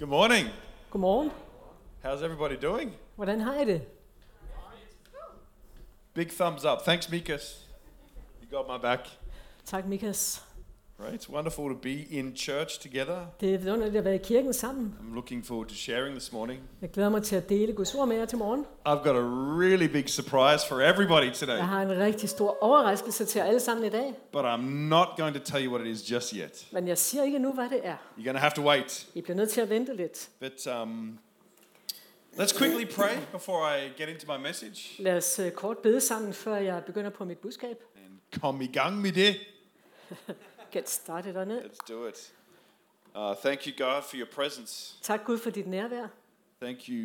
Good morning. Godmorgen. How's everybody doing? Hvordan har I det? Big thumbs up. Thanks, Mikas. You got my back. Tak, Mikas. Right, it's wonderful to be in church together. Det er vidunderligt at være i kirken sammen. I'm looking forward to sharing this morning. Jeg glæder mig til at dele Guds ord med jer til morgen. I've got a really big surprise for everybody today, Jeg har en rigtig stor overraskelse til jer alle sammen i dag. but I'm not going to tell you what it is just yet. Men jeg siger ikke nu, hvad det er. You're going to have to wait. I bliver nødt til at vente lidt. But let's quickly pray before I get into my message Lad os kort bede sammen, før jeg begynder på mit budskab. and komme i gang med det. Get started on it. Let's do it. Thank you, God, for your presence. Tak Gud for dit nærvær. Thank you.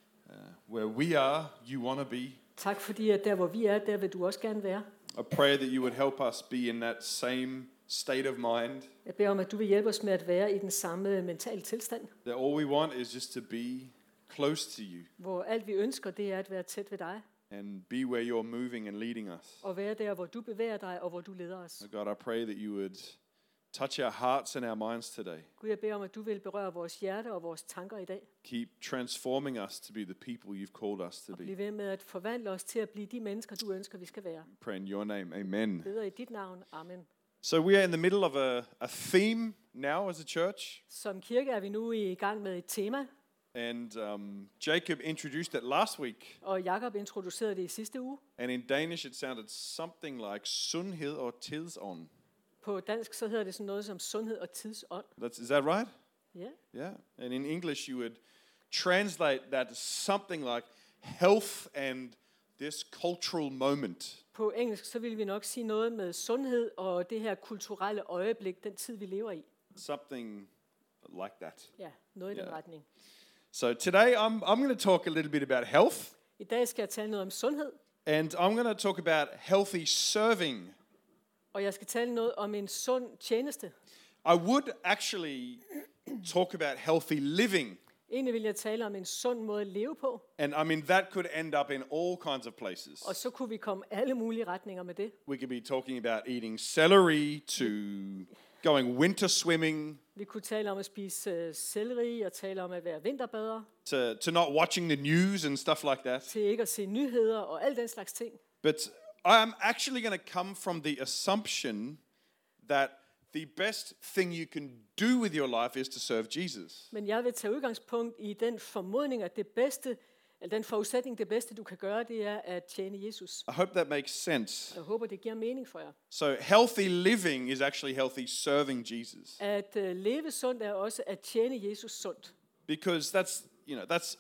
Where we are, you want to be. Tak fordi at der hvor vi er, der vil du også gerne være. I pray that you would help us be in that same state of mind. Jeg beder om at du vil hjælpe os med at være i den samme mentale tilstand, That all we want is just to be close to you hvor alt vi ønsker, det er at være tæt ved dig and be where you're moving and leading us. og være der hvor du bevæger dig og hvor du leder os. Oh God, I pray that you would touch our hearts and our minds today. Gud, jeg beder om, at du vil berøre vores hjerte og vores tanker i dag. Keep transforming us to be the people you've called us to Og be. bliv ved med at forvandle os til at blive de mennesker, du ønsker, vi skal være. Pray in your name. Amen. Beder i dit navn. Amen. So we are in the middle of a theme now as a church. Som kirke er vi nu i gang med et tema, And Jacob introduced it last week. og Jakob introducerede det i sidste uge. And in Danish it sounded something like sundhed og tidsånd. På dansk så hedder det sådan noget som sundhed og tidsånd. Is that right? Ja. Yeah. And in English you would translate that as something like health and this cultural moment. På engelsk så vil vi nok sige noget med sundhed og det her kulturelle øjeblik, den tid vi lever i. Something like that. Ja, noget i den Ja. retning. So today I'm going to talk a little bit about health, I dag skal jeg tale noget om sundhed, and I'm going to talk about healthy serving. og jeg skal tale noget om en sund tjeneste. I would actually talk about healthy living. Egentlig vil jeg tale om en sund måde at leve på, And I mean, that could end up in all kinds of places. og så kunne vi komme alle mulige retninger med det. We could be talking about eating celery, to going winter swimming, Vi kunne tale om at spise selleri og tale om at være vinterbader, to not watching the news and stuff like that. til ikke at se nyheder og al den slags ting. But I'm actually going to come from the assumption that the best thing you can do with your life is to serve Jesus. Men jeg vil tage udgangspunkt i den formodning, at det bedste, eller den forudsætning, det bedste du kan gøre, det er at tjene Jesus. I hope that makes sense. Jeg håber, det giver mening for jer. So healthy living is actually healthy serving Jesus. At leve sundt er også at tjene Jesus sundt. Because that's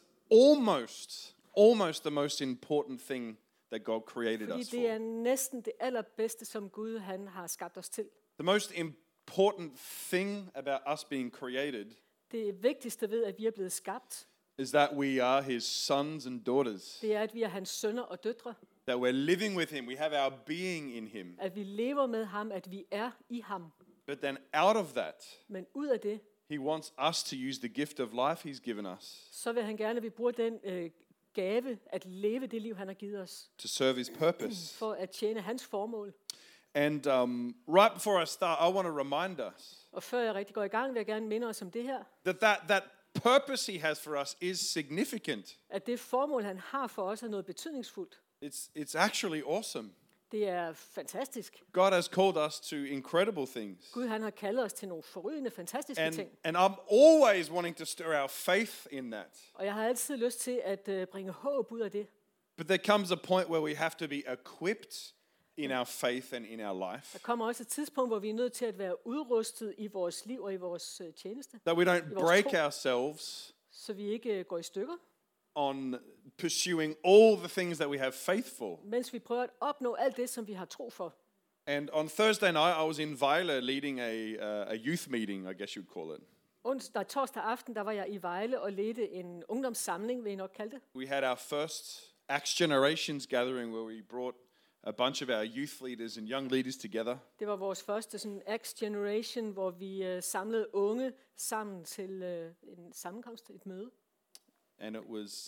almost the most important thing that God created Fordi us det er for. næsten det allerbedste, som Gud han har skabt os til. The most important thing about us being created Det vigtigste ved, at vi er blevet skabt, is that we are his sons and daughters. det er, at vi er hans sønner og døtre. That we're living with him. We have our being in him. At vi lever med ham, at vi er i ham. But then out of that, Men ud af det, he wants us to use the gift of life he's given us så vil han gerne, at vi bruger den gave at leve det liv, han har givet os, to serve his purpose. for at tjene hans formål. And right before I start, I want to remind us Og før jeg rigtig går i gang, vil jeg gerne minde os om det her, that purpose he has for us is significant. at det formål, han har for os, er noget betydningsfuldt. It's actually awesome. Det er fantastisk. God has called us to incredible things. Gud, han har kaldet os til nogle forrygende, fantastiske ting. And I'm always wanting to stir our faith in that. Og jeg har altid lyst til at bringe håb ud af det. But there comes a point where we have to be equipped in our faith and in our life. Der kommer også et tidspunkt, hvor vi er nødt til at være udrustet i vores liv og i vores tjeneste, That we don't I vores break tro. ourselves så vi ikke går i stykker, on pursuing all the things that we have faith for. mens vi prøver at opnå alt det, som vi har tro for. And on Thursday night, I was in Vejle leading a youth meeting, I guess you'd call it. Torsdag aften, der var jeg i Vejle og ledte en ungdomssamling, vil I nok kalde det. We had our first Acts Generations gathering where we brought a bunch of our youth leaders and young leaders together. Det var vores første sådan Acts Generation, hvor vi samlede unge sammen til en sammenkomst, et møde. And it was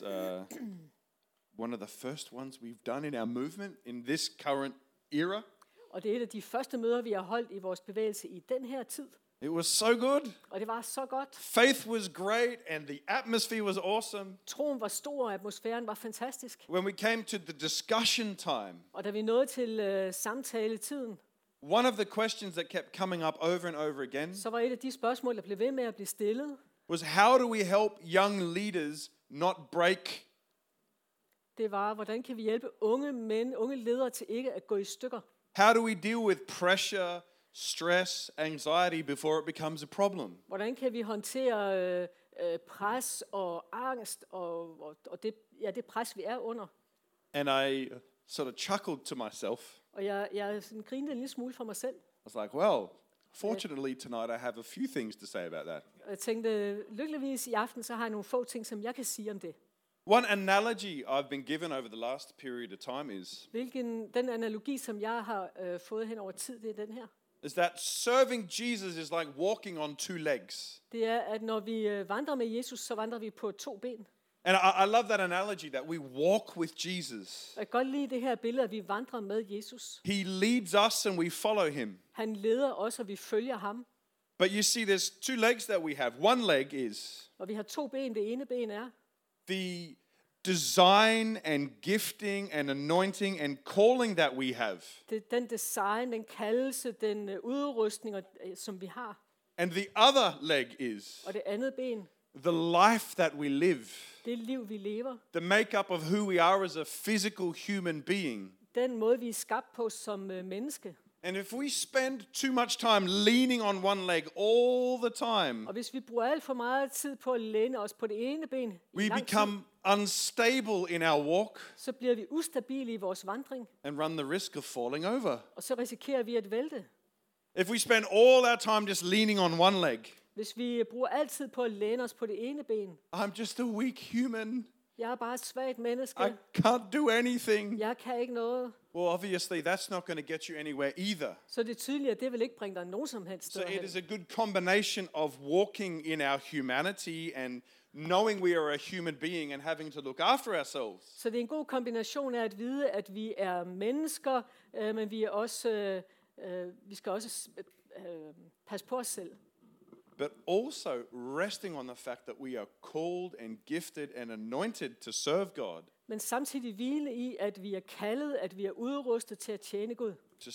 one of the first ones we've done in our movement in this current era. Og det er et af de første møder, vi har holdt i vores bevægelse i den her tid. It was so good. Og det var så godt. Faith was great and the atmosphere was awesome. Troen var stor, og atmosfæren var fantastisk. When we came to the discussion time, Og da vi nåede til samtaletiden, one of the questions that kept coming up over and over again så var et af de spørgsmål, der blev ved med at blive stillet, was how do we help young leaders not break? det var, hvordan kan vi hjælpe unge ledere til ikke at gå i stykker? How do we deal with pressure, stress, anxiety before it becomes a problem? Hvordan kan vi håndtere pres og angst og det pres, vi er under? And I sort of chuckled to myself. Og jeg sådan grinede en lille smule for mig selv. I was like, well, fortunately tonight I have a few things to say about that. Og jeg tænkte, lykkeligvis i aften, så har jeg nogle få ting, som jeg kan sige om det. One analogy I've been given over the last period of time is Den analogi, som jeg har fået hen over tid, det er den her. that serving Jesus is like walking on two legs. Det er, at når vi vandrer med Jesus, så vandrer vi på 2 ben. And I love that analogy that we walk with Jesus. Og jeg kan godt lide det her billede, at vi vandrer med Jesus. He leads us and we follow him. Han leder os, og vi følger ham. But you see, there's two legs that we have. One leg is Og vi har 2 ben. Det ene ben er the design and gifting and anointing and calling that we have. det er den design, den kaldelse, den udrustning, som vi har. And the other leg is Og det andet ben, the life that we live. det liv, vi lever. The makeup of who we are as a physical human being. Den måde, vi er skabt på som menneske. And if we spend too much time leaning on one leg all the time, Og hvis vi bruger alt for meget tid på at læne os på det ene ben, we become unstable in our walk så bliver vi ustabile i vores vandring, and run the risk of falling over. og så risikerer vi at vælte. If we spend all our time just leaning on one leg, Hvis vi bruger altid på at læne os på det ene ben, I'm just a weak human. jeg er bare et svagt menneske, I can't do anything. jeg kan ikke noget, Well, obviously, that's not going to get you anywhere either. så det er tydeligt, at det vil ikke bringe dig nogen som helst So sted it hen. is a good combination of walking in our humanity and knowing we are a human being and having to look after ourselves. Så det er en god kombination af at vide, at vi er mennesker, men vi skal også passe på os selv. But also resting on the fact that we are called and gifted and anointed to serve God, Men samtidig hvile i, at vi er kaldet, at vi er udrustet til at tjene Gud, to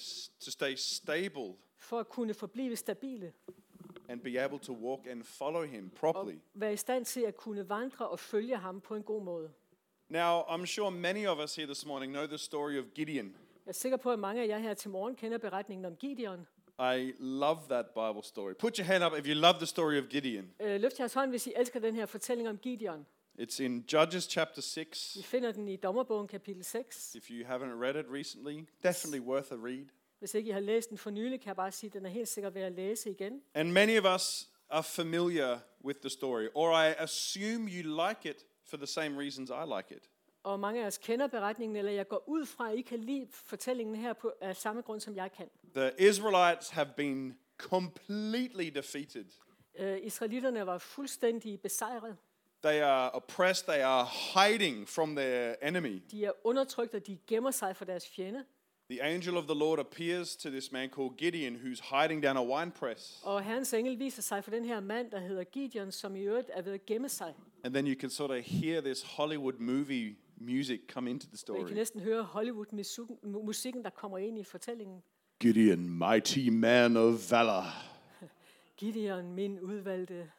stay stable for at kunne forblive stabile, and be able to walk and follow him properly. og være i stand til at kunne vandre og følge ham på en god måde. Now, I'm sure many of us here this morning know the story of Gideon. Jeg er sikker på, at mange af jer her til morgen kender beretningen om Gideon. I love that Bible story. Put your hand up if you love the story of Gideon. Løft jeres hånd, hvis I elsker den her fortælling om Gideon. It's in Judges chapter 6. Vi finder den i Dommerbogen kapitel 6. If you haven't read it recently, definitely worth a read. Hvis ikke I har læst den for nylig, kan jeg bare sige, at den er helt sikkert værd at læse igen. And many of us are familiar with the story, or I assume you like it for the same reasons I like it. Og mange af os kender beretningen, eller jeg går ud fra, at I kan lide fortællingen her på af samme grund, som jeg kan. The Israelites have been completely defeated. Israelitterne var fuldstændig besejret. They are oppressed, they are hiding from their enemy. De er undertrykt, og de gemmer sig for deres fjende. The angel of the Lord appears to this man called Gideon, who's hiding down a wine press. Og Herrens engel viser sig for den her mand, der hedder Gideon, som i øvrigt er ved at gemme sig. And then you can sort of hear this Hollywood movie music come into the Og I story. kan næsten høre Hollywood-musikken, der kommer ind i fortællingen. Gideon, mighty man of valor. Gideon, min udvalgte.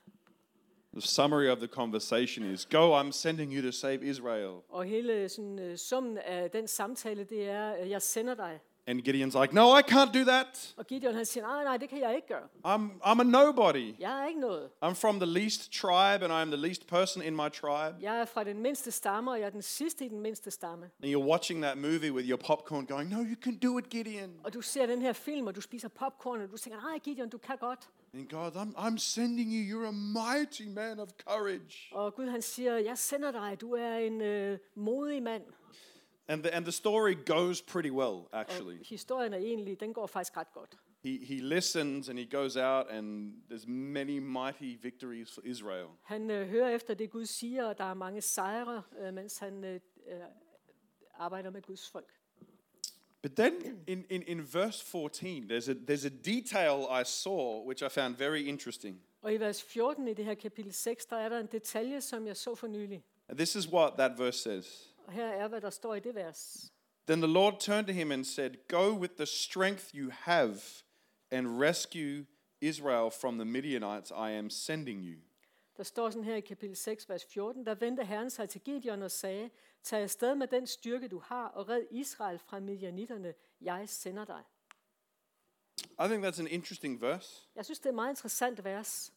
The summary of the conversation is, go, I'm sending you to save Israel. Og hele sådan, summen af den samtale, det er, jeg sender dig. And Gideon's like, no, I can't do that. Og Gideon han siger, nej, det kan jeg ikke gøre. I'm a nobody. Jeg er ikke noget. I'm from the least tribe and I'm the least person in my tribe. Jeg er fra den mindste stamme, og jeg er den sidste i den mindste stamme. And you're watching that movie with your popcorn going, no, you can do it, Gideon. Og du ser den her film, og du spiser popcorn, og du tænker, nej Gideon, du kan godt. And God, I'm sending you. You're a mighty man of courage. Og Gud han siger, jeg sender dig, du er en modig mand. And the story goes pretty well, actually. Og historien er egentlig, den går faktisk ret godt. He listens and he goes out and there's many mighty victories for Israel. Han hører efter det Gud siger, og der er mange sejre, mens han arbejder med Guds folk. But then in verse 14, there's a detail I saw which I found very interesting. Og i vers 14 i det her kapitel 6, der er der en detalje, som jeg så for nylig. And this is what that verse says. Og her er, hvad der står i det vers. Then the Lord turned to him and said, "Go with the strength you have and rescue Israel from the Midianites I am sending you." Der står sådan her i kapitel 6, vers 14, der vendte Herren sig til Gideon og sagde, tag afsted med den styrke, du har, og red Israel fra midianitterne. Jeg sender dig. I think that's an interesting verse Jeg synes, det er et meget interessant vers.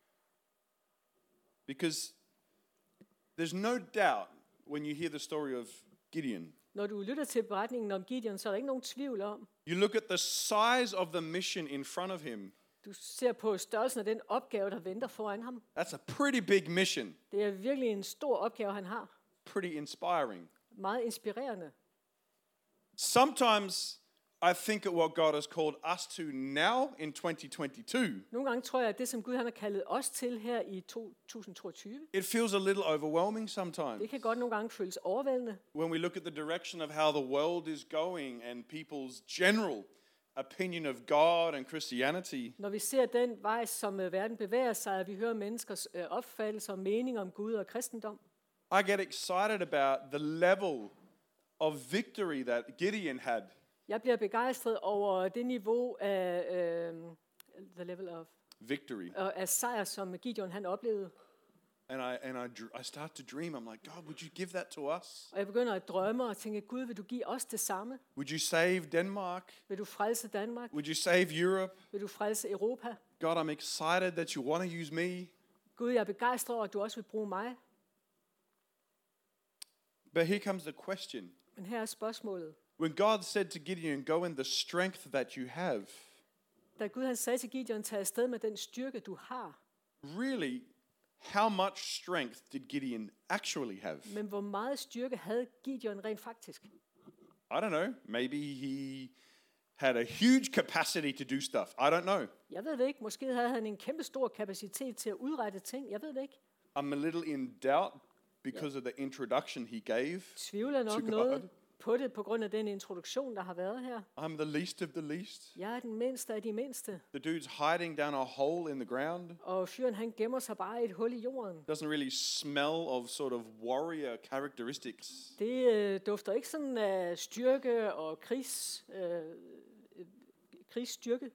because there's no doubt when you hear the story of Gideon. Når du lytter til beretningen om Gideon, så er der ikke nogen tvivl om. You look at the size of the mission in front of him. Du ser på størrelsen af den opgave, der venter foran ham. That's a pretty big mission. Det er virkelig en stor opgave, han har. Pretty inspiring. Meget inspirerende. Sometimes I think of what God has called us to now in 2022. Nogle gange tror jeg, at det, som Gud han har kaldet os til her i 2022, It feels a little overwhelming sometimes. det kan godt nogle gange føles overvældende. When we look at the direction of how the world is going and people's general opinion of God and Christianity, Når vi ser den vej, som verden bevæger sig, og vi hører menneskers opfattelser og mening om Gud og kristendom, I get excited about the level of victory that Gideon had. jeg bliver begejstret over det niveau af the level of Victory. af sejr, som Gideon han oplevede. And I start to dream. I'm like, God, would you give that to us? Og jeg begynder at drømme og tænke, Gud, vil du give os det samme? Would you save Denmark? Vil du frelse Danmark? Would you save Europe? Vil du frelse Europa? God, I'm excited that you want to use me. Gud, jeg er begejstret over, at du også vil bruge mig. But here comes the question. Men her er spørgsmålet. When God said to Gideon, go in the strength that you have, Da Gud han sagde til Gideon, tag afsted med den styrke, du har. really, how much strength did Gideon actually have? Men hvor meget styrke havde Gideon rent faktisk? I don't know. Maybe he had a huge capacity to do stuff. I don't know. Jeg ved det ikke. Måske havde han en kæmpe stor kapacitet til at udrette ting. Jeg ved det ikke. I'm a little in doubt because of the introduction he gave. Tvivler nok To God. noget på det, på grund af den introduktion, der har været her. I'm the least of the least. Jeg er den mindste af de mindste. The dude's hiding down a hole in the ground. Og fyren han gemmer sig bare i et hul i jorden. Doesn't really smell of sort of warrior characteristics. Det dufter ikke sådan af styrke og krigsstyrke.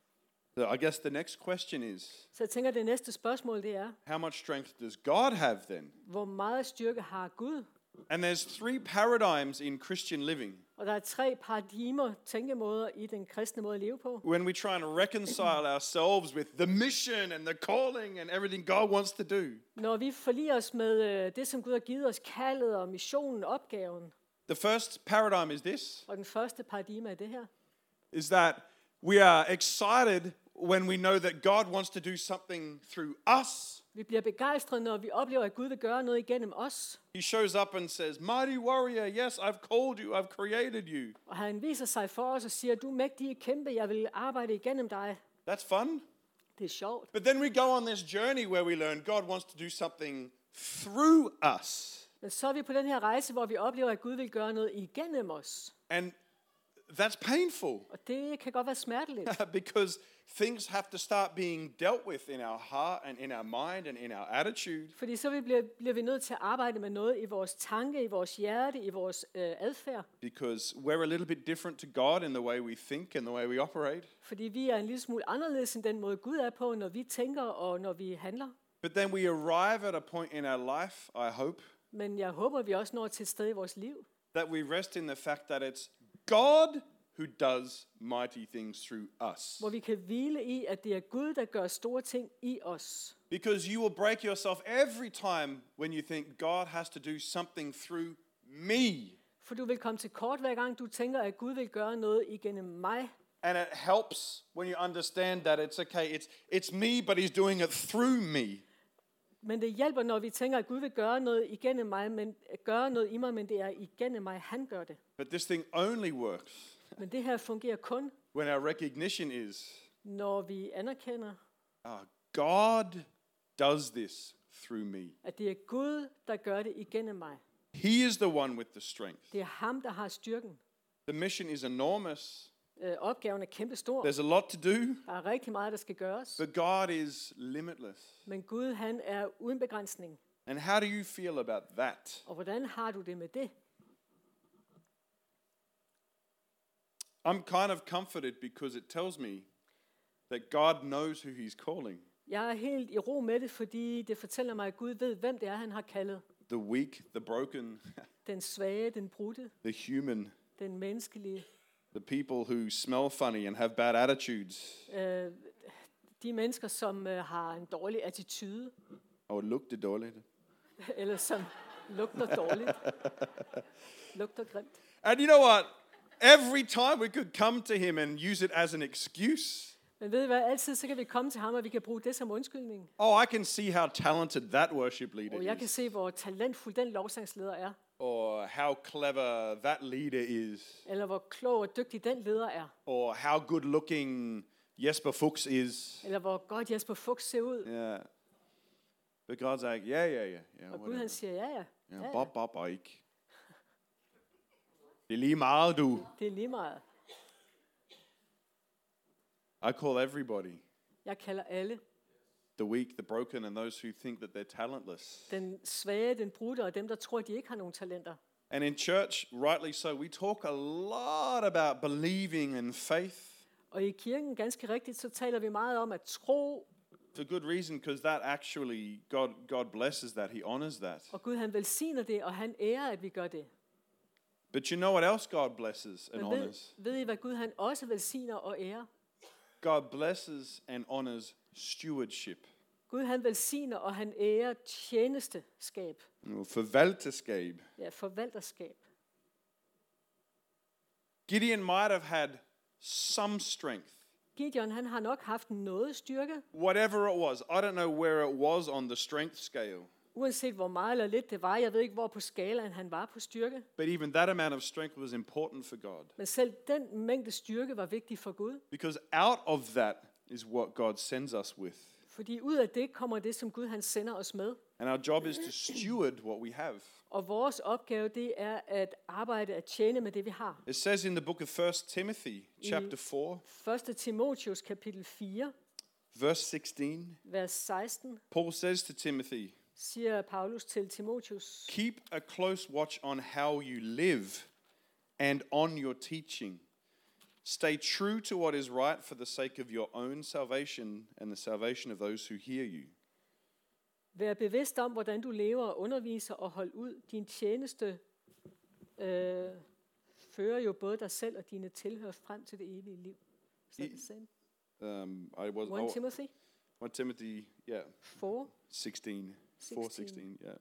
So I guess the next question is, Så jeg tænker, det næste spørgsmål det er, how much strength does God have then? hvor meget styrke har Gud? And there's three paradigms in Christian living. Og der er 3 paradigmer, tænkemåder i den kristne måde at leve på. When we try and reconcile ourselves with the mission and the calling and everything God wants to do. Når vi forliger os med det, som Gud har givet os, kaldet og missionen, opgaven. The first paradigm is this, Og den første paradigme er det her. is that we are excited when we know that God wants to do something through us. Vi bliver begejstrede, når vi oplever, at Gud vil gøre noget igennem os. He shows up and says, mighty warrior, yes, I've called you, I've created you. Og han viser sig for os og siger, du er mægtige kæmpe, jeg vil arbejde igennem dig. That's fun. Det er sjovt. But then we go on this journey where we learn God wants to do something through us. Men så er vi på den her rejse, hvor vi oplever, at Gud vil gøre noget igennem os. And that's painful Og det kan godt være smerteligt. because things have to start being dealt with in our heart and in our mind and in our attitude. Fordi så bliver vi nødt til at arbejde med noget i vores tanke, i vores hjerte, i vores adfærd. Because we're a little bit different to God in the way we think and the way we operate. Fordi vi er en lille smule anderledes end den måde, Gud er på, når vi tænker og når vi handler. But then we arrive at a point in our life, I hope, Men jeg håber, vi også når til et sted i vores liv, that we rest in the fact that it's God who does mighty things through us. hvor vi kan hvile i, at det er Gud, der gør store ting i os. Because you will break yourself every time when you think God has to do something through me. For du vil komme til kort, hver gang du tænker, at Gud vil gøre noget igennem mig. And it helps when you understand that it's okay, it's me, but he's doing it through me. Men det hjælper, når vi tænker, at Gud vil gøre noget igennem mig, men gøre noget i mig, men det er igennem mig, han gør det. But this thing only works Men det her fungerer kun, when our recognition is, når vi anerkender, God does this through me. at det er Gud, der gør det igennem mig. He is the one with the strength. Det er ham, der har styrken. The mission is enormous. Opgaven er kæmpestor. There's a lot to do, Der er rigtig meget, der skal gøres. but God is limitless. Men Gud, han er uden begrænsning. And how do you feel about that? Og hvordan har du det med det? I'm kind of comforted because it tells me that God knows who he's calling. Jeg er helt i ro med det, fordi det fortæller mig, at Gud ved, hvem det er, han har kaldet. The weak, the broken, Den svage, den brudte, the human, den menneskelige. the people who smell funny and have bad attitudes. De mennesker, som har en dårlig attitude, Oh, lugter dårligt. eller som lugter dårligt, lugter grimt. And you know what? Every time we could come to him and use it as an excuse. Men ved I hvad, altid så kan vi komme til ham, og vi kan bruge det som undskyldning. Oh, I can see how talented that worship leader Og jeg kan is. se, hvor talentfuld den lovsangsleder er, Or how clever that leader is. eller hvor klog og dygtig den leder er, Or how good looking Jesper Fuchs is. eller hvor godt Jesper Fuchs ser ud. Yeah. But God's like, yeah, Og Gud han whatever. siger, ja. Yeah, Bob og ikke. Det er lige meget, du. Det er lige meget. I call everybody. Jeg kalder alle. The weak, the broken, and those who think that they're talentless. Den svage, den brudte, og dem, der tror, de ikke har nogen talenter. And in church, rightly so, we talk a lot about believing and faith. Og i kirken, ganske rigtigt, så taler vi meget om at tro, For good reason, because that actually, God blesses that. He honors that. og Gud han velsigner det, og han ærer, at vi gør det. But you know what else God blesses and Men honors? ved I, hvad Gud han også velsigner og ærer? God blesses and honors stewardship. Gud han velsigner, og han ærer tjenesteskab. Forvalterskab. Ja, forvalterskab. Gideon might have had some strength. Gideon, han har nok haft noget styrke, Whatever it was. I don't know where it was on the strength scale. uanset hvor meget eller lidt det var. Jeg ved ikke, hvor på skalaen han var på styrke. But even that amount of strength was important for God. Men selv den mængde styrke var vigtig for Gud. Because out of that is what God sends us with. Fordi ud af det kommer det, som Gud han sender os med. And our job is to steward what we have. Og vores opgave, det er at arbejde, at tjene med det, vi har. It says in the book of 1 Timothy, chapter 4, 1. Timotheus kapitel 4, verse 16, vers 16, Paul says to Timothy, siger Paulus til Timotheus, keep a close watch on how you live and on your teaching. Stay true to what is right for the sake of your own salvation and the salvation of those who hear you. vær bevidst om, hvordan du lever og underviser og hold ud. Din tjeneste fører jo både dig selv og dine tilhører frem til det evige liv. Is that the same? I was 1 Timothy 1 Timothy, yeah, 4. 16, 4:16, yeah.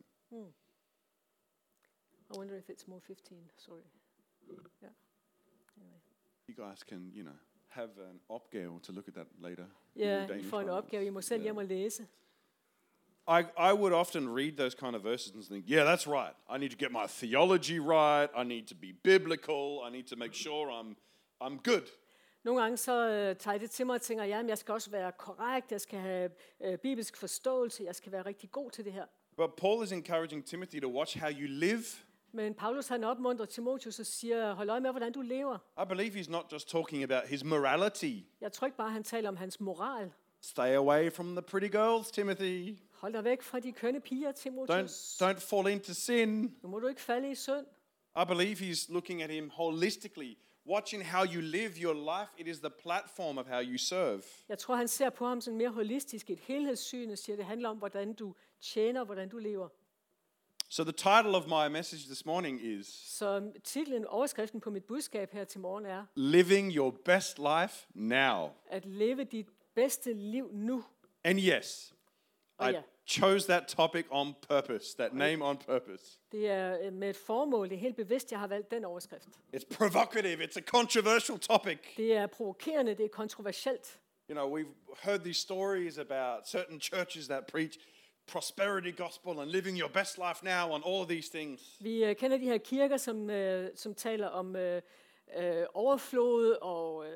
I wonder if it's more 15. Sorry. Yeah. Anyway. You guys can, have an opgave to look at that later. in Ja, your I Danish får en Bibles. opgave. I må selv hjem og læse. I would often read those kind of verses and think, yeah, that's right. I need to get my theology right. I need to be biblical. I need to make sure I'm good. Nogle gange så tager jeg det til mig og tænker, ja, men jeg skal også være korrekt, jeg skal have bibelsk forståelse, jeg skal være rigtig god til det her. But Paul is encouraging Timothy to watch how you live. Men Paulus han opmuntrer Timotheus og siger, hold øje med, hvordan du lever. I believe he's not just talking about his morality. Jeg tror ikke bare, han taler om hans moral. Stay away from the pretty girls, Timothy. Hold dig væk fra de kønne piger, Timotheus. Don't fall into sin. Nu må du ikke falde i synd. I believe he's looking at him holistically, watching how you live your life. It is the platform of how you serve. Jeg tror, han ser på ham sådan mere holistisk, et helhedssyn, og siger, det handler om, hvordan du tjener, hvordan du lever. So the title of my message this morning is Så titlen, overskriften på mit budskab her til morgen er, Living Your Best Life Now. at leve dit bedste liv nu. And yes, Og I ja, chose that topic on purpose, that name on purpose. det er med et formål, det er helt bevidst, jeg har valgt den overskrift. It's provocative, it's a controversial topic. Det er provokerende, det er kontroversielt. You know, we've heard these stories about certain churches that preach prosperity gospel and living your best life now and all of these things. Vi kender de her kirker, som taler om overflod og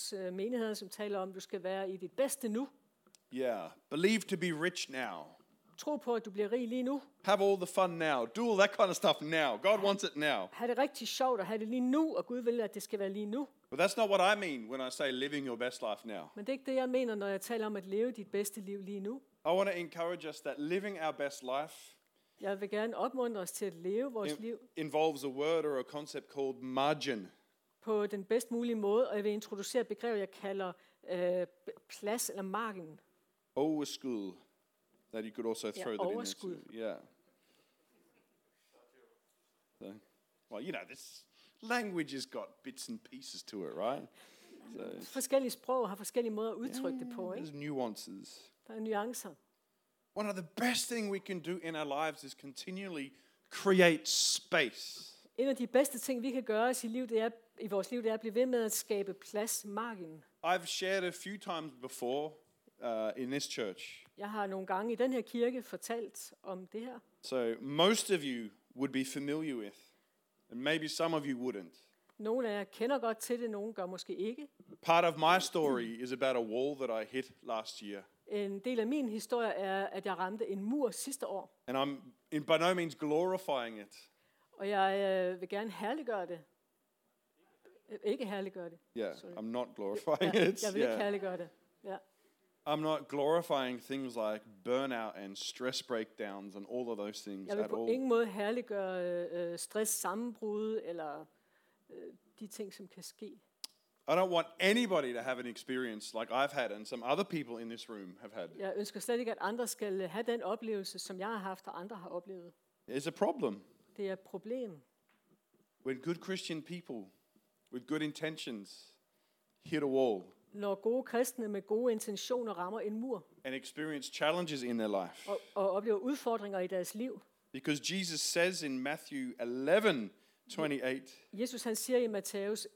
herliggørelsesmenigheder, som taler om, at du skal være i dit bedste nu. Yeah, believe to be rich now. Tro på, at du bliver rig lige nu. Have all the fun now. Do all that kind of stuff now. God wants it now. Ha' det rigtig sjovt og have det lige nu, og Gud vil, at det skal være lige nu. But that's not what I mean when I say living your best life now. Men det er ikke det, jeg mener, når jeg taler om at leve dit bedste liv lige nu. I want to encourage us that living our best life Jeg vil gerne opmuntre os til at leve vores liv involves a word or a concept called margin. på den bedst mulige måde, og jeg vil introducere et begreb, jeg kalder plads eller margen. Overskud. That you could also throw that overskud. in there. Yeah. So, well, you know, this language has got bits and pieces to it, right? So, Forskellige sprog har forskellige måder at udtrykke det på, ikke? there's nuances. Der er nuancer. One of the best things we can do in our lives is continually create space. En af de bedste ting, vi kan gøre i vores liv, det er at blive ved med at skabe plads, margen. I've shared a few times before in this church. Jeg har nogle gange i den her kirke fortalt om det her. So most of you would be familiar with, and maybe some of you wouldn't. Nogle af jer kender godt til det, nogle gør måske ikke. Part of my story is about a wall that I hit last year. En del af min historie er, at jeg ramte en mur sidste år. And I'm by no means glorifying it. Og jeg vil gerne herliggøre det. Ikke herliggøre det. Yeah, Sorry. I'm not glorifying Ja, it. jeg vil ikke herliggøre det. Ja. I'm not glorifying things like burnout and stress breakdowns and all of those things Jeg vil at på all. ingen måde herliggøre stress, sammenbrud eller de ting, som kan ske. I don't want anybody to have an experience like I've had and some other people in this room have had. Jeg ønsker slet ikke, at andre skal have den oplevelse, som jeg har haft, og andre har oplevet. It's a problem Det er et problem, when good Christian people with good intentions hit a wall når gode kristne med gode intentioner rammer en mur and experience challenges in their life. og oplever udfordringer i deres liv. Because Jesus says in Matthew 11:28, Jesus han siger i Matthæus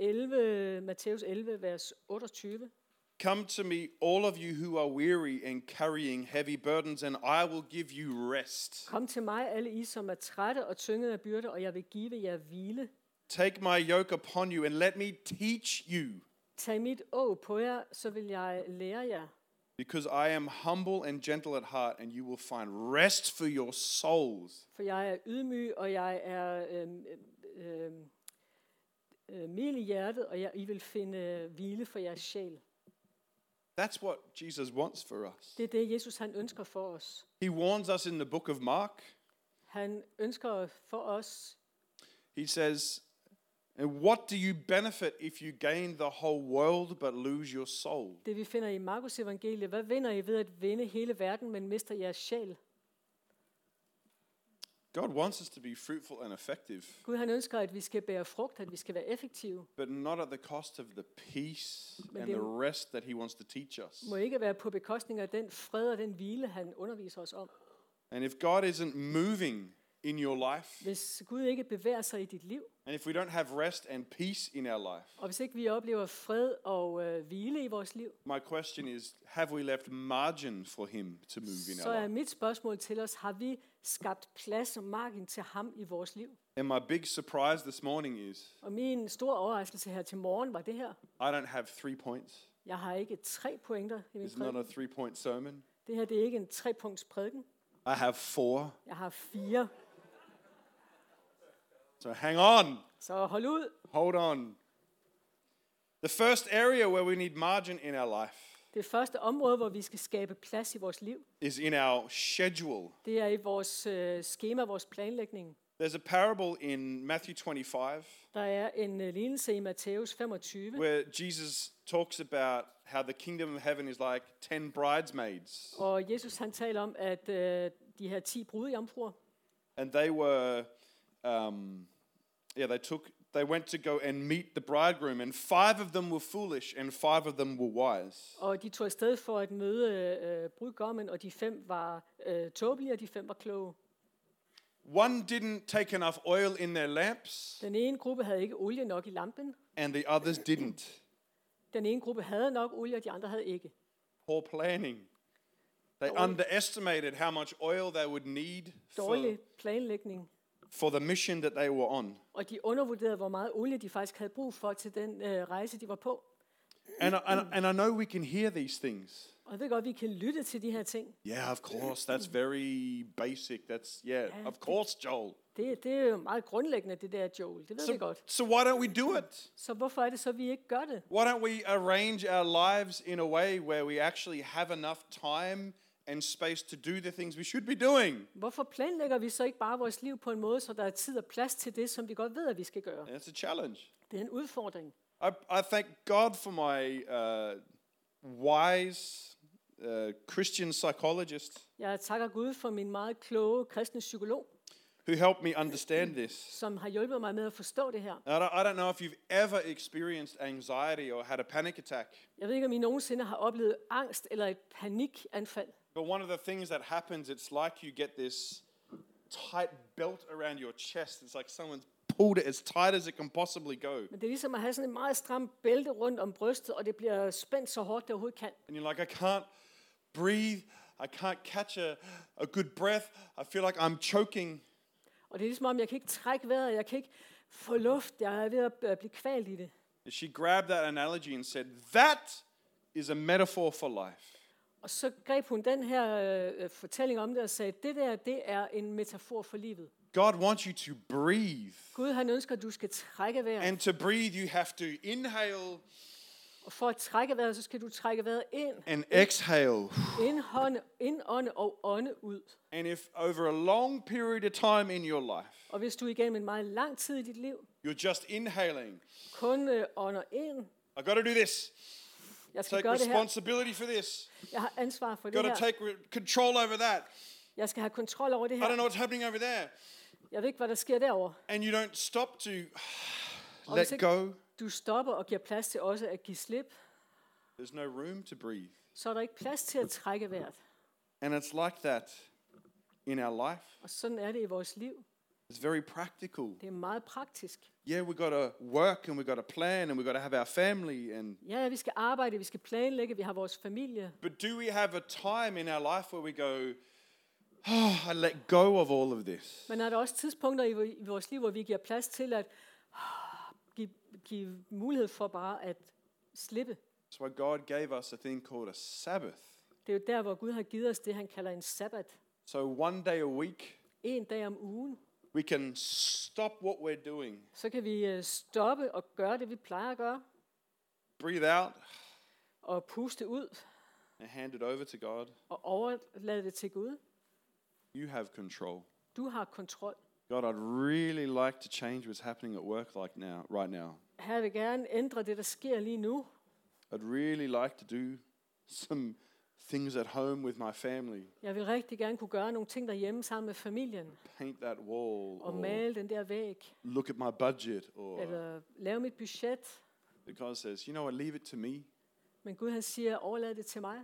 11, vers 28, "Come to me, all of you who are weary and carrying heavy burdens, and I will give you rest. Kom til mig, alle I, som er trætte og tyngede af byrder, og jeg vil give jer hvile. Take my yoke upon you and let me teach you, Tag mit åg på jer, så vil jeg lære jer. because I am humble and gentle at heart, and you will find rest for your souls." For jeg er ydmyg, og jeg er mild i hjertet, og I vil finde hvile for jeres sjæl. That's what Jesus wants for us. Det er det, Jesus han ønsker for os. He warns us in the book of Mark. Han ønsker for os, He says, "And what do you benefit if you gain the whole world but lose your soul?" det vi finder i Markus evangeliet. Hvad vinder I ved at vinde hele verden, men mister jeres sjæl? God wants us to be fruitful and effective, Gud han ønsker, at vi skal bære frugt, at vi skal være effektive. but not at the cost of the peace Men and det- the rest that he wants to teach us. Må ikke være på bekostning af den fred og den hvile, han underviser os om. And if God isn't moving in your life, Hvis Gud ikke bevæger sig i dit liv, and if we don't have rest and peace in our life, og hvis ikke vi oplever fred og hvile i vores liv, my question is, have we left margin for him to move in så our er life? mit spørgsmål til os, har vi skabt plads og margin til ham i vores liv? And my big surprise this morning is, Og min store overraskelse her til morgen var det her. I don't have 3 points. Jeg har ikke 3 pointer i min It's not a prædiken. 3-point sermon. Det her det er ikke en 3-punkts prædiken. I have 4. Jeg har 4. So hang on. Så hold ud. Hold on. The first area where we need margin in our life Det første område, hvor vi skal skabe plads i vores liv, is in our schedule. det er i vores skema, vores planlægning. There's a parable in Matthew 25 Der er en lignelse i Matthæus 25, where Jesus talks about how the kingdom of heaven is like 10 bridesmaids. og Jesus han taler om, at de her 10 brudejomfruer, And they were, they went to go and meet the bridegroom, and 5 of them were foolish and 5 of them were wise. og de tog afsted for at møde brudgommen, og de 5 var tåbelige, og de 5 var kloge. One didn't take enough oil in their lamps, Den ene gruppe havde ikke olie nok i lampen. and the others didn't. Den ene gruppe havde nok olie, og de andre havde ikke. Poor planning. They Dårlig- underestimated how much oil they would need Dårlig planlægning. for the mission that they were on. Og de undervurderede, hvor meget olie de faktisk havde brug for til den rejse, de var på. And I know we can hear these things, Og jeg ved godt, vi kan lytte til de her ting. Yeah, of course. That's very basic. That's, yeah, of course, Joel. Det er jo meget grundlæggende, det der, Joel. Det ved vi godt. So why don't we do it? Så hvorfor er det så, vi ikke gør det? Why don't we arrange our lives in a way where we actually have enough time and space to do the things we should be doing? Hvorfor planlægger vi så ikke bare vores liv på en måde, så der er tid og plads til det, som vi godt ved, at vi skal gøre? It's a challenge. Det er en udfordring. I thank God for my wise Christian psychologist Jeg takker Gud for min meget kloge kristne psykolog, who helped me understand this. som har hjulpet mig med at forstå det her. I don't know if you've ever experienced anxiety or had a panic attack, Jeg ved ikke, om I nogensinde har oplevet angst eller et panikanfald. but one of the things that happens, it's like you get this tight belt around your chest. It's like someone's pulled it as tight as it can possibly go. Men det er ligesom at have sådan en meget stram bælte rundt om brystet, og det bliver spændt så hårdt, det overhovedet kan. And you're like, I can't breathe. I can't catch a good breath. I feel like I'm choking. Og det er ligesom om, jeg kan ikke trække vejret, jeg kan ikke få luft, jeg er ved at blive kvalt i det. She grabbed that analogy and said, that is a metaphor for life. Og så greb hun den her fortælling om det og sagde, det der, det er en metafor for livet. God wants you to breathe. Gud, han ønsker, at du skal trække vejret. And to breathe, you have to inhale Og for at trække vejret, så skal du trække vejret ind. and exhale. Indånde og ånde ud. And if over a long period of time in your life, Og hvis du igennem en meget lang tid i dit liv you're just inhaling, kun ånder ind, I got to do this. jeg skal Take gøre det her, responsibility for this. jeg har ansvar for det Got to her, take control over that. jeg skal have kontrol over det I don't her, know what's happening over there. jeg ved ikke, hvad der sker derovre. And you don't stop to Og let hvis ikke go. du stopper og giver plads til også at give slip, There's no room to breathe. så er der ikke plads til at trække vejret. And it's like that in our life. Og sådan er det i vores liv. It's very practical. Det er meget praktisk. Yeah, we got to work and we got to plan and we got to have our family and Ja, vi skal arbejde, vi skal planlægge, vi har vores familie. but do we have a time in our life where we go, oh, I let go of all of this? Men er der også tidspunkter i vores liv, hvor vi giver plads til at give mulighed for bare at slippe? That's why God gave us a thing called a Sabbath. Det er jo der, hvor Gud har givet os det, han kalder en sabbat. So one day a week, En dag om ugen. we can stop what we're doing, Så kan vi stoppe og gøre det, vi plejer at gøre. breathe out, Og puste ud and hand it over to God. og overlade det til Gud. You have control. Du har kontrol. God, I'd really like to change what's happening at work right now. Her vil gerne ændre det, der sker lige nu. I'd really like to do some things at home with my family. Jeg vil rigtig gerne kunne gøre nogle ting derhjemme sammen med familien. Paint that wall, Og or male den der væg. look at my budget, or Eller lave mit budget. but God says, you know what, leave it to me. Men Gud han siger, overlad det til mig.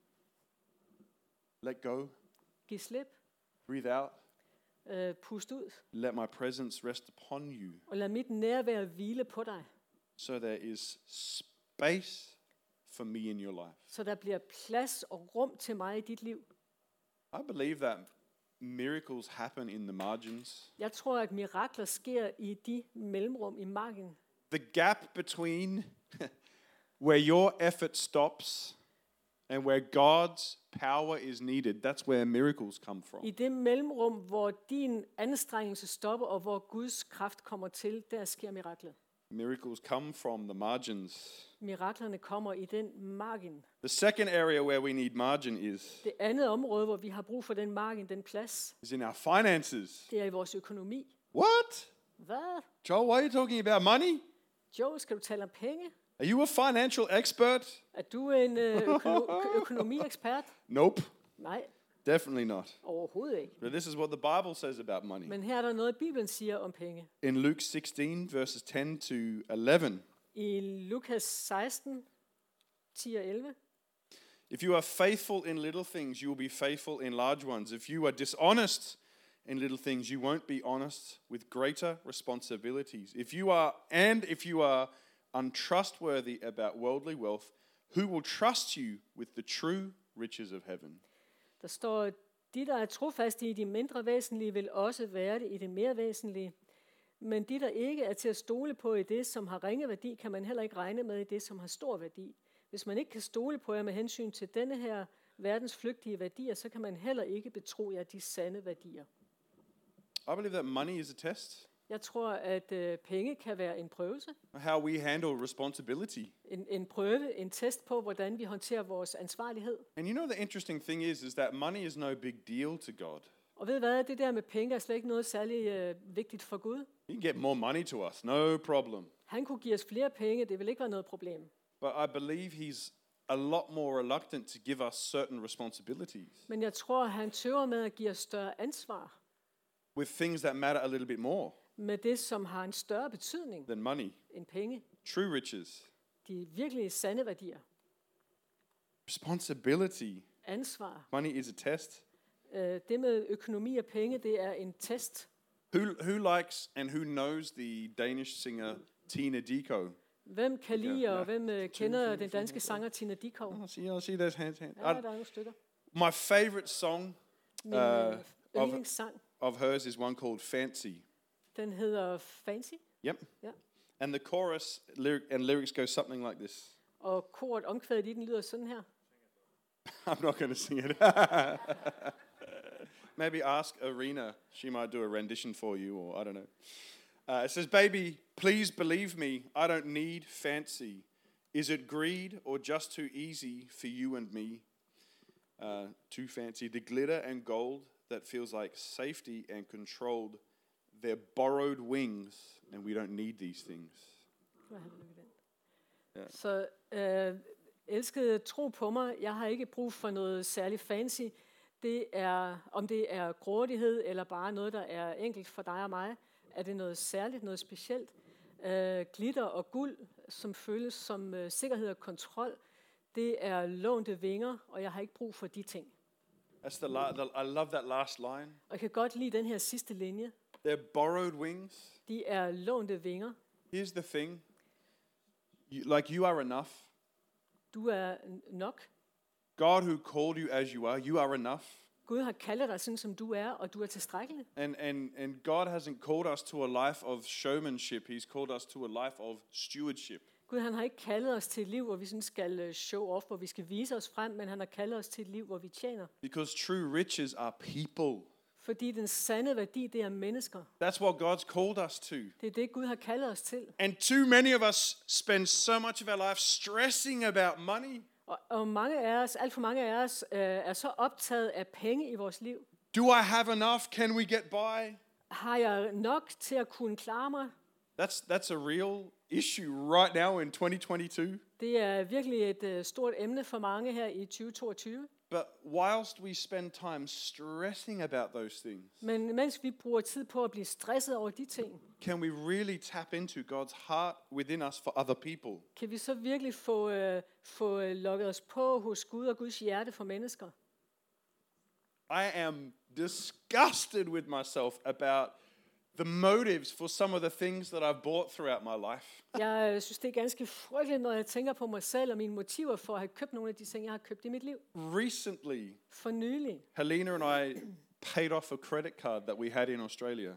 Let go, Giv slip. breathe out, Pust ud. let my presence rest upon you. Og lad mit nærvær hvile på dig. So there is space for me in your life. Så der bliver plads og rum til mig i dit liv. I believe that miracles happen in the margins. Jeg tror, at mirakler sker i de mellemrum i margen. The gap between where your effort stops and where God's power is needed, that's where miracles come from. I det mellemrum, hvor din anstrengelse stopper, og hvor Guds kraft kommer til, der sker miraklet. Miracles come from the margins. Miraklerne kommer i den margin. The second area where we need margin Det andet område, hvor vi har brug for den margin, den plads, is in our finances. det er i vores økonomi. What? Hvad? Joel, why are you talking about money? Joe, skal du tale om penge? Are you a financial expert? Er du en økonomiekspert? Nope, Nej, definitely not. overhovedet ikke. But this is what the Bible says about money. Men her er der noget, Bibelen siger om penge. In Luke 16, verses 10 to 11, I Lukas 16, 10 og 11. if you are faithful in little things, you will be faithful in large ones. If you are dishonest in little things, you won't be honest with greater responsibilities. If you are untrustworthy about worldly wealth, who will trust you with the true riches of heaven? Der står, de, der er trofaste i de mindre væsentlige, vil også være det i det mere væsentlige. Men de, der ikke er til at stole på i det, som har ringe værdi, kan man heller ikke regne med i det, som har stor værdi. Hvis man ikke kan stole på jer med hensyn til denne her verdens flygtige værdier, så kan man heller ikke betro jer de sande værdier. I believe that money is a test. Jeg tror, at penge kan være en prøvelse. How we handle responsibility. En prøve, en test på, hvordan vi håndterer vores ansvarlighed. And you know the interesting thing is that money is no big deal to God. Og ved hvad, det der med penge er slet ikke noget særlig vigtigt for Gud. He can get more money to us, no problem. Han kunne give os flere penge, det vil ikke være noget problem. But I believe he's a lot more reluctant to give us certain responsibilities Men jeg tror, han tøver med at give os større ansvar with things that matter a little bit more med det, som har en større betydning than money. end penge. True riches. De virkelige sande værdier. Responsibility. Ansvar. Money is a test. Det med økonomi og penge, det er en test. Who likes and who knows the Danish singer Tina Dickow? Hvem kan lide, og hvem kender den danske sanger Tina Dickow? I see those hands. Ja, der er nogle stykker. My favorite song Min yndlingssang, of hers is one called Fancy. den hedder Fancy. Yep. Ja. And the chorus lyrics go something like this. Og koret omkvædet i den lyder sådan her. I'm not going to sing it. Maybe ask Arena. She might do a rendition for you, or I don't know. It says, "Baby, please believe me. I don't need fancy. Is it greed or just too easy for you and me? Too fancy. The glitter and gold that feels like safety and controlled. They're borrowed wings, and we don't need these things." Ja. Så elskede, tro på mig. Jeg har ikke brug for noget særligt fancy. Det er, om det er grådighed eller bare noget, der er enkelt for dig og mig, er det noget særligt, noget specielt. Glitter og guld, som føles som sikkerhed og kontrol, det er lånte vinger, og jeg har ikke brug for de ting. I love that last line. Og jeg kan godt lide den her sidste linje. They're borrowed wings. De er lånte vinger. Here's the thing. You are enough. Du er nok. God who called you as you are enough. Gud har kaldet dig sådan, som du er, og du er tilstrækkelig. And God hasn't called us to a life of showmanship. He's called us to a life of stewardship. Gud, han har ikke kaldet os til et liv, hvor vi sådan skal show off, hvor vi skal vise os frem, men han har kaldet os til et liv, hvor vi tjener. Because true riches are people. Fordi den sande værdi, det er mennesker. That's what God's called us to. Det er det, Gud har kaldet os til. And too many of us spend so much of our life stressing about money. Og mange af os, alt for mange af os, er så optaget af penge i vores liv. Do I have enough? Can we get by? Har jeg nok til at kunne klare mig? That's a real issue right now in 2022. Det er virkelig et stort emne for mange her i 2022. But whilst we spend time stressing about those things, Men mens vi bruger tid på at blive stresset over de ting, can we really tap into God's heart within us for other people? kan vi så virkelig få lukket os på hos Gud og Guds hjerte for mennesker? I am disgusted with myself about the motives for some of the things that I've bought throughout my life. Jeg synes, det er ganske frygteligt, når jeg tænker på mig selv og mine motiver for at have købt nogle af de ting, jeg har købt i mit liv. Recently, For nylig Helena and I paid off a credit card that we had in Australia.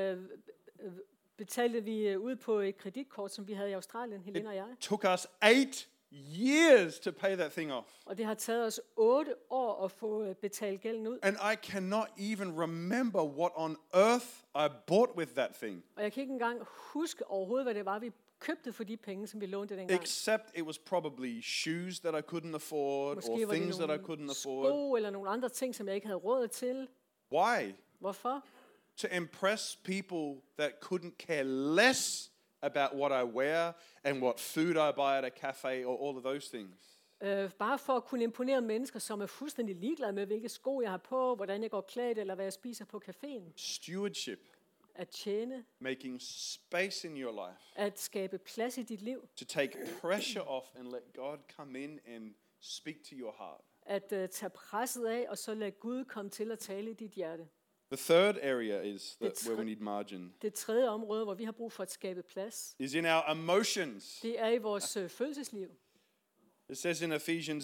betalte vi ud på et kreditkort, som vi havde i Australien, Helena og jeg. It took us 8 years to pay that thing off. Og det har taget os 8 år at få betalt gælden ud. And I cannot even remember what on earth I bought with that thing. Og jeg kan ikke engang huske overhovedet, hvad det var, vi købte for de penge, som vi lånte dengang. Except it was probably shoes that I couldn't afford, Måske or var det things that I nogle couldn't afford. sko eller nogle andre ting, som jeg ikke havde råd til. Why? Hvorfor? To impress people that couldn't care less about what I wear and what food I buy at a cafe or all of those things. Bare for at kunne imponere mennesker, som er fuldstændig ligeglade med, hvilke sko jeg har på, hvordan jeg går klædt, eller hvad jeg spiser på caféen. Stewardship. At tjene, Making space in your life. at skabe plads i dit liv, To take pressure off and let God come in and speak to your heart. at tage presset af, og så lade Gud komme til at tale i dit hjerte. The third area is where we need margin. Det tredje område, hvor vi har brug for at skabe plads, Is in our emotions. det er i vores følelsesliv. It says in Ephesians,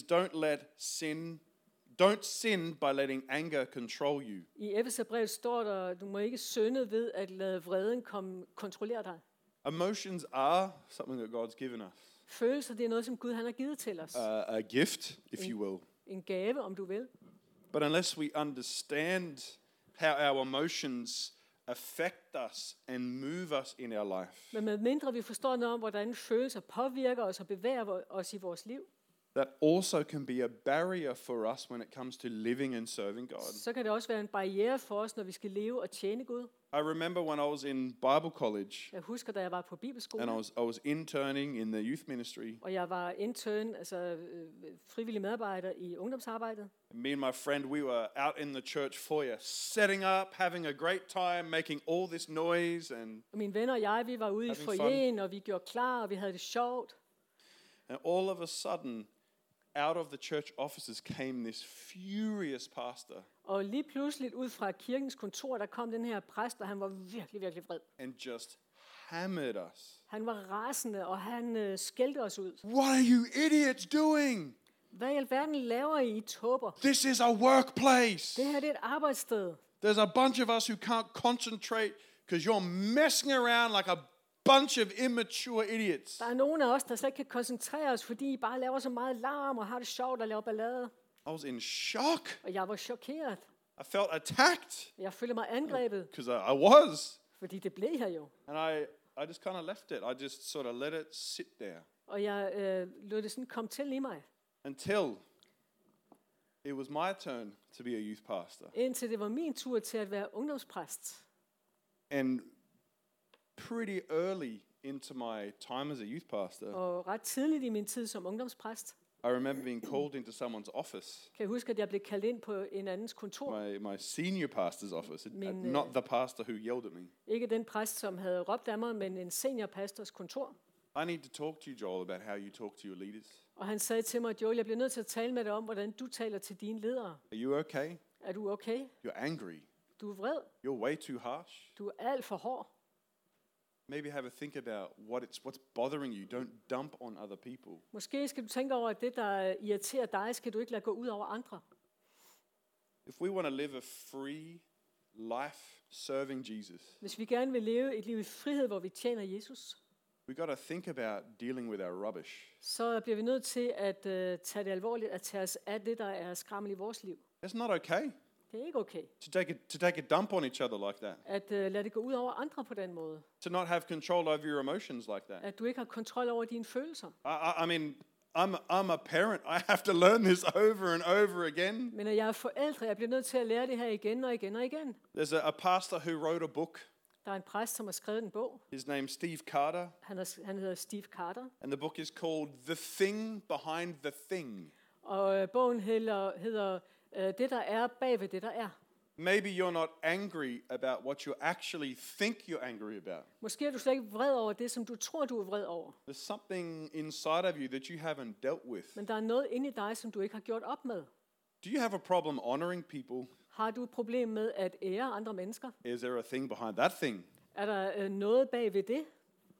don't sin by letting anger control you. I Efeserbrevet står der, du må ikke synde ved at lade vreden kontrollere dig. Emotions are something that God's given us. Følelser, det er noget, som Gud han har givet til os. a gift, if you will. En gave, om du vil. But unless we understand how our emotions affect us and move us in our life, Men med mindre vi forstår noget om, hvordan følelser påvirker os og bevæger os i vores liv, that also can be a barrier for us when it comes to living and serving God. så kan det også være en barriere for os, når vi skal leve og tjene Gud. I remember when I was in Bible college Jeg husker, da jeg var på bibelskole, and I was interning in the youth ministry. og jeg var intern, altså frivillig medarbejder i ungdomsarbejdet. Me and my friend, we were out in the church foyer, setting up, having a great time, making all this noise, and Og mine venner og jeg, vi var ude i Having fun. foyeren, og vi gjorde klar, og vi havde det sjovt. all of a sudden, out of the church offices came this furious pastor Og lige pludselig ud fra kirkens kontor, der kom den her præst, og han var virkelig, virkelig vred. and just hammered us. Han var rasende, og han skældte os ud. What are you idiots doing? Hvad i alverden laver I tåber? This is a workplace. Det her det er et arbejdssted. There's a bunch of us who can't concentrate because you're messing around like a bunch of immature idiots. Der er nogen af os, der slet ikke kan koncentrere os, fordi I bare laver så meget larm og har det sjovt og laver ballade. I was in shock. Og jeg var chokeret. I felt attacked Jeg følte mig angrebet, because I was. fordi det blev her jo. And I just kind of left it. I just sort of let it sit there Og jeg lod det sådan komme til i mig, until it was my turn to be a youth pastor. indtil det var min tur til at være ungdomspræst. And pretty early into my time as a youth pastor, Og ret tidligt i min tid som ungdomspræst, I remember being called into someone's office, kan jeg huske, at jeg blev kaldt ind på en andens kontor. my senior pastor's office, Min, not the pastor who yelled at me. Ikke den præst, som havde råbt af mig, men en seniorpastors kontor. I need to talk to you, Joel, about how you talk to your leaders. Og han sagde til mig, Joel, jeg bliver nødt til at tale med dig om, hvordan du taler til dine ledere. Are you okay? Er du okay? You're angry. Du er vred. You're way too harsh. Du er alt for hård. Maybe have a think about what's bothering you. Don't dump on other people. Måske skal du tænke over, at det, der irriterer dig, skal du ikke lade gå ud over andre. If we want to live a free life serving Jesus, Hvis vi gerne vil leve et liv i frihed, hvor vi tjener Jesus, we got to think about dealing with our rubbish. så bliver vi nødt til at tage det alvorligt, at tage os af det, der er skrammel i vores liv. It's not okay Det er ikke okay, to take a dump on each other like that. at lade det gå ud over andre på den måde. To not have control over your emotions like that. At du ikke har kontrol over dine følelser. I mean, I'm a parent. I have to learn this over and over again. Men når jeg er forældre, jeg bliver nødt til at lære det her igen og igen og igen. There's a pastor who wrote a book. Der er en præst, som har skrevet en bog. His name's Steve Carter, Han hedder Steve Carter. and the book is called The Thing Behind the Thing. Og bogen hedder Det, der er bag ved det, der er. Maybe you're not angry about what you actually think you're angry about. Måske er du slet ikke vred over det, som du tror, du er vred over. There's something inside of you that you haven't dealt with. Men der er noget inde i dig, som du ikke har gjort op med. Do you have a problem honoring people? Har du et problem med at ære andre mennesker? Is there a thing behind that thing? Er der noget bag ved det?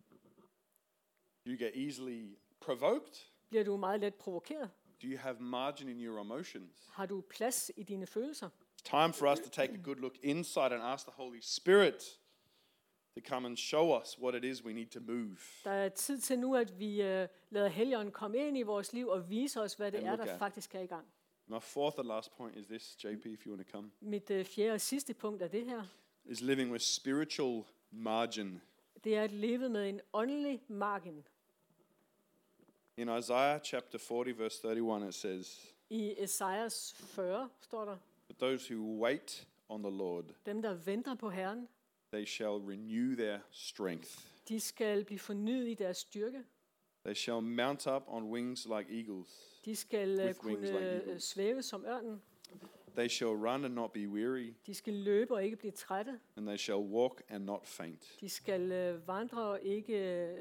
Do you get easily provoked? Bliver du meget let provokeret? Do you have margin in your emotions? Har du plads i dine følelser? It's time for us to take a good look inside and ask the Holy Spirit to come and show us what it is we need to move. Der er tid til nu, at vi lader Helligånden komme ind i vores liv og vise os, hvad det And er, look der at. faktisk er i gang. My fourth and last point is this, JP, if you want to come, Mit fjerde og sidste punkt er det her. is living with spiritual margin. Det er at leve med en åndelig margin. In Isaiah chapter 40, verse 31, it says, I Esajas 40 står der, "But those who wait on the Lord, dem der venter på Herren, they shall renew their strength. de skal blive fornyet i deres styrke. They shall mount up on wings like eagles. De skal With wings like kunne eagles. svæve som ørnen. They shall run and not be weary, De skal løbe og ikke blive trætte. and they shall walk and not faint." De skal vandre og ikke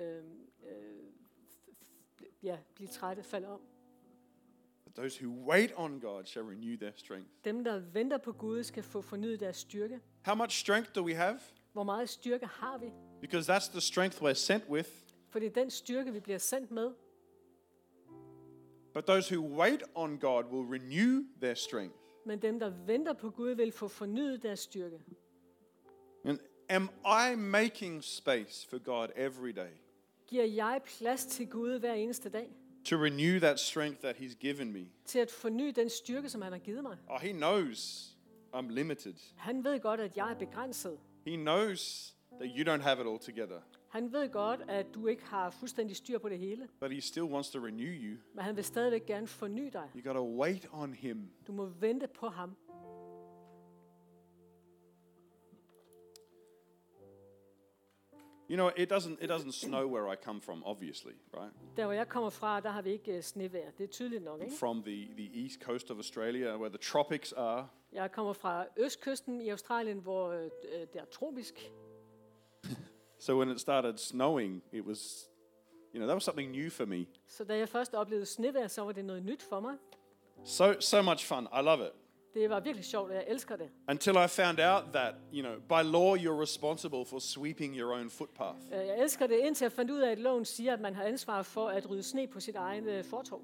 blive trætte, falde om. But those who wait on God shall renew their strength. Dem, der venter på Gud, skal få fornyet deres styrke. How much strength do we have? Hvor meget styrke har vi? Because that's the strength we're sent with. For det er den styrke, vi bliver sendt med. But those who wait on God will renew their strength. Men dem, der venter på Gud, vil få fornyet deres styrke. And am I making space for God every day? Giver jeg plads til Gud hver eneste dag? to renew that strength that He's given me? Til at forny den styrke, som han har givet mig? Oh, He knows I'm limited. Han ved godt, at jeg er begrænset. He knows that you don't have it all together, Han ved godt, at du ikke har fuldstændig styr på det hele. but He still wants to renew you. Men han vil stadigvæk gerne forny dig. You got to wait on Him. Du må vente på ham. You know, it doesn't snow where I come from, obviously, right? Der hvor jeg kommer fra, der har vi ikke snevejr. Det er tydeligt nok, ikke? From the east coast of Australia, where the tropics are. Jeg kommer fra østkysten i Australien, hvor det er tropisk. So when it started snowing, it was, that was something new for me. Så da jeg først oplevede snevejr, så var det noget nyt for mig. So much fun. I love it. Det var virkelig sjovt, og jeg elsker det. Until I found out that, by law you're responsible for sweeping your own footpath. Jeg elsker det, indtil jeg fandt ud af, at loven siger, at man har ansvar for at rydde sne på sit egen fortov.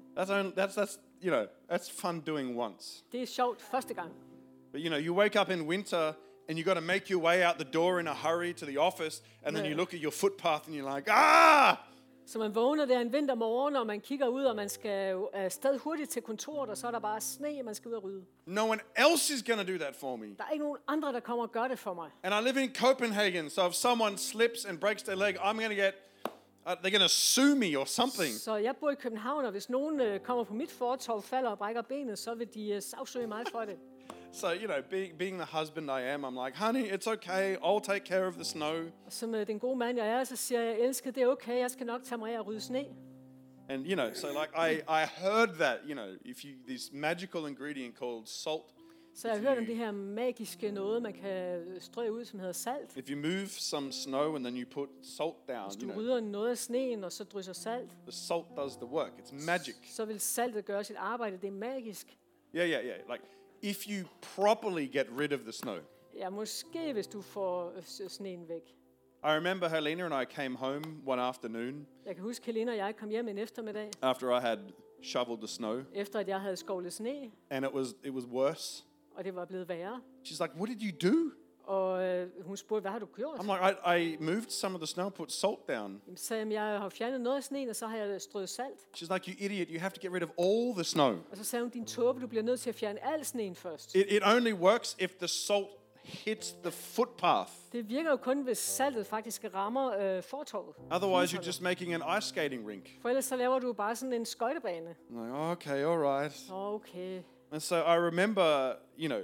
That's fun doing once. Det er sjovt første gang. But you wake up in winter and you got to make your way out the door in a hurry to the office, and then you look at your footpath and you're like, ah! Så man vågner der en vintermorgen, og man kigger ud, og man skal afsted hurtigt til kontoret, og så er der bare sne, man skal ud og rydde. No one else is going to do that for me. Der er ikke nogen andre, der kommer og gør det for mig. And I live in Copenhagen, so if someone slips and breaks their leg, they're going to sue me or something. Så jeg bor i København, og hvis nogen kommer på mit fortov, falder og brækker benet, så vil de sagsøge mig for det. So, being the husband I am, I'm like, honey, it's okay. I'll take care of the snow. Som den gode mand jeg er, så siger jeg, elsker, det er okay, jeg skal nok tage mig af at rydde sne. And, so like I heard that, this magical ingredient called salt. Så jeg har hørt om det her magiske noget, man kan strø ud, som hedder salt. If you move some snow and then you put salt down, Hvis du rydder noget af sneen, og så drysser salt, the salt does the work. It's magic. så vil saltet gøre sit arbejde. Det er magisk. Yeah. Like, if you properly get rid of the snow. Ja, måske hvis du får sneen væk. I remember Helena and I came home one afternoon. Jeg kan huske, Helena og jeg kom hjem en eftermiddag. After I had shoveled the snow. Efter at jeg havde skovlet sne. And it was worse. Og det var blevet værre. She's like, what did you do? Og hun spurgte, hvad har du gjort? I'm like, I moved some of the snow, put salt down. Så jeg har fjernet noget af sneen, og så har jeg strøget salt. She's like, you idiot, you have to get rid of all the snow. Og så sagde hun, din tåbe, du bliver nødt til at fjerne al sneen først. It only works if the salt hits the footpath. Det virker jo kun, hvis saltet faktisk rammer fortovet. Otherwise, you're just making an ice skating rink. For ellers så laver du bare sådan en skøjtebane. I'm like, okay, all right. Okay. And so I remember,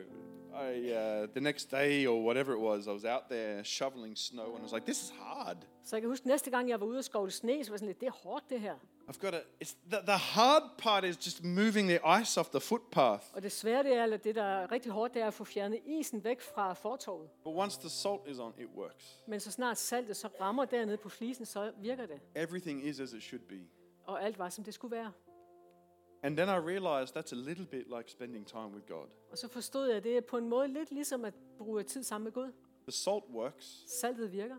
the next day or whatever it was, I was out there shoveling snow, and I was like, this is hard. Så jeg kan huske, næste gang jeg var ude og skovle sne, så var sådan lidt, det er hårdt det her. I've got to. It's the hard part is just moving the ice off the footpath. Og det svære det er, eller det der er rigtig hårdt, det er at få fjernet isen væk fra fortovet. But once the salt is on, it works. Men så snart saltet så rammer dernede på flisen, så virker det. Everything is as it should be. Og alt var som det skulle være. And then I realized that's a little bit like spending time with God. Og så forstod jeg, at det er på en måde lidt ligesom at bruge tid sammen med Gud. The salt works. Saltet virker.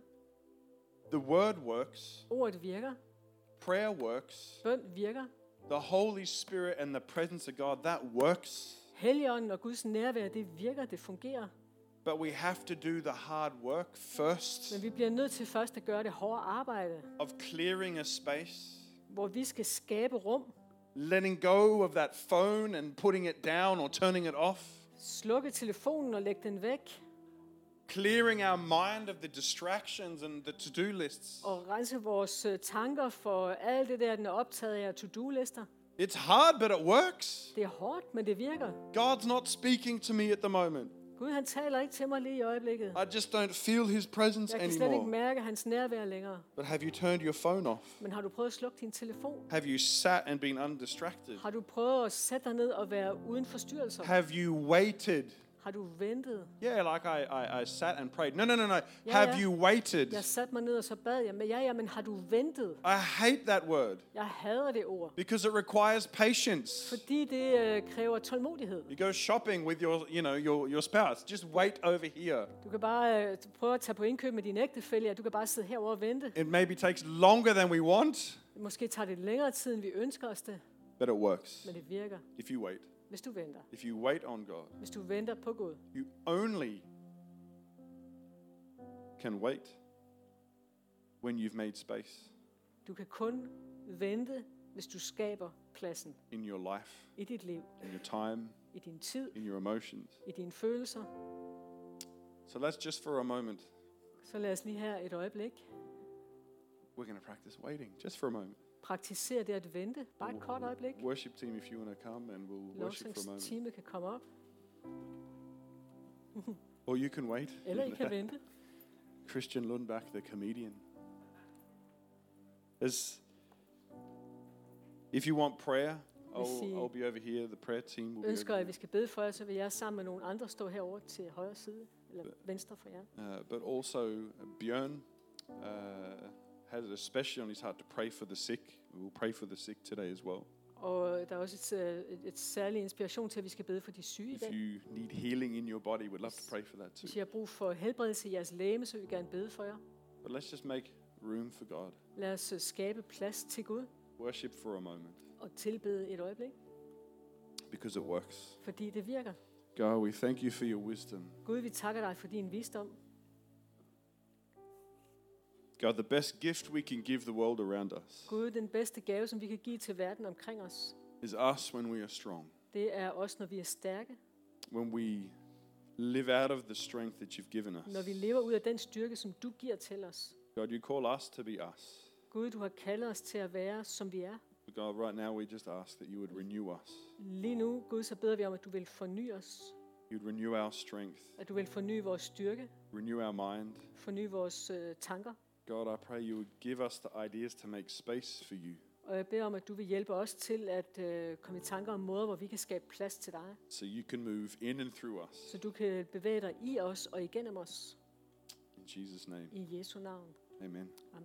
The word works. Ordet virker. Prayer works. Bøn virker. The Holy Spirit and the presence of God, that works. Helligånden og Guds nærvær, det virker, det fungerer. But we have to do the hard work first. Men vi bliver nødt til først at gøre det hårde arbejde. Of clearing a space. Hvor vi skal skabe rum. Letting go of that phone and putting it down or turning it off. Slukke telefonen og lægge den væk. Clearing our mind of the distractions and the to-do lists. Og rense vores tanker for alt det der, den er optaget af to-do-lister. It's hard, but it works. Det er hårdt, men det virker. God's not speaking to me at the moment. Gud, han taler ikke til mig lige i øjeblikket. I just don't feel his presence Jeg kan slet ikke anymore. mærke hans nærvær længere. But have you turned your phone off? Men har du prøvet at slukke din telefon? Have you sat and been undistracted? Har du prøvet at sætte dig ned og være uden forstyrrelser? Have you waited? Har du ventet? Yeah, like I sat and prayed. No. Ja, Have ja. you waited? Jeg satte mig ned og så bad jeg. Men men har du ventet? I hate that word Jeg hader det ord. because it requires patience. Fordi det kræver tålmodighed. You go shopping with your spouse. Just wait over here. Du kan bare prøve at tage på indkøb med din ægtefælle, og du kan bare sidde herovre og vente. It maybe takes longer than we want, Måske tager det længere tid, end vi ønsker os det, but it works men det virker, if you wait. hvis du venter. If you wait on God, Hvis du venter på Gud. you only can wait when you've made space. Du kan kun vente, hvis du skaber pladsen in your life, i dit liv, in your time, i din tid, in your emotions. i dine følelser. So let's just for a moment, Så lad os lige her et øjeblik we're going to practice waiting, just for a moment. praktisere det at vente. Bare et kort øjeblik. Worship team, if you want to come, and we'll worship for a moment. Lovsangsteamet kan komme op, Or you can wait. eller I kan vente. Christian Lundbach, the comedian. If you want prayer, I'll be over here. The prayer team will be Ønsker, over at vi skal bede for jer, så vil jeg sammen med nogle andre stå herovre til højre side, eller venstre for jer. here. But also, Bjørn has it especially on his heart to pray for the sick. We will pray for the sick today as well. Og der er også et særlig inspiration til, at vi skal bede for de syge i If dag. you need healing in your body, we'd love to pray for that too. Hvis I har brug for helbredelse i jeres læme, så vil vi gerne bede for jer. But let's just make room for God. Lad os skabe plads til Gud Worship for a moment, og tilbede et øjeblik, because it works. fordi det virker. God, we thank you for your wisdom. Gud, vi takker dig for din visdom. God, the best gift we can give the world around us Gud, den bedste gave, som vi kan give til verden omkring os, is us when we are strong. det er os, når vi er stærke. When we live out of the strength that you've given us. Når vi lever ud af den styrke, som du giver til os. God, you call us to be us. Gud, du har kaldet os til at være, som vi er. But God, right now we just ask that you would renew us. Lige nu, Gud, så beder vi om, at du vil forny os. You'd renew our strength, At du vil forny vores styrke, renew our mind. forny vores tanker. God, I pray you would give us the ideas to make space for you, Og jeg beder om, at du vil hjælpe os til at komme i tanker om måder, hvor vi kan skabe plads til dig. so you can move in and through us. Så du kan bevæge dig i os og igennem os. In Jesus' name, I Jesu navn. amen.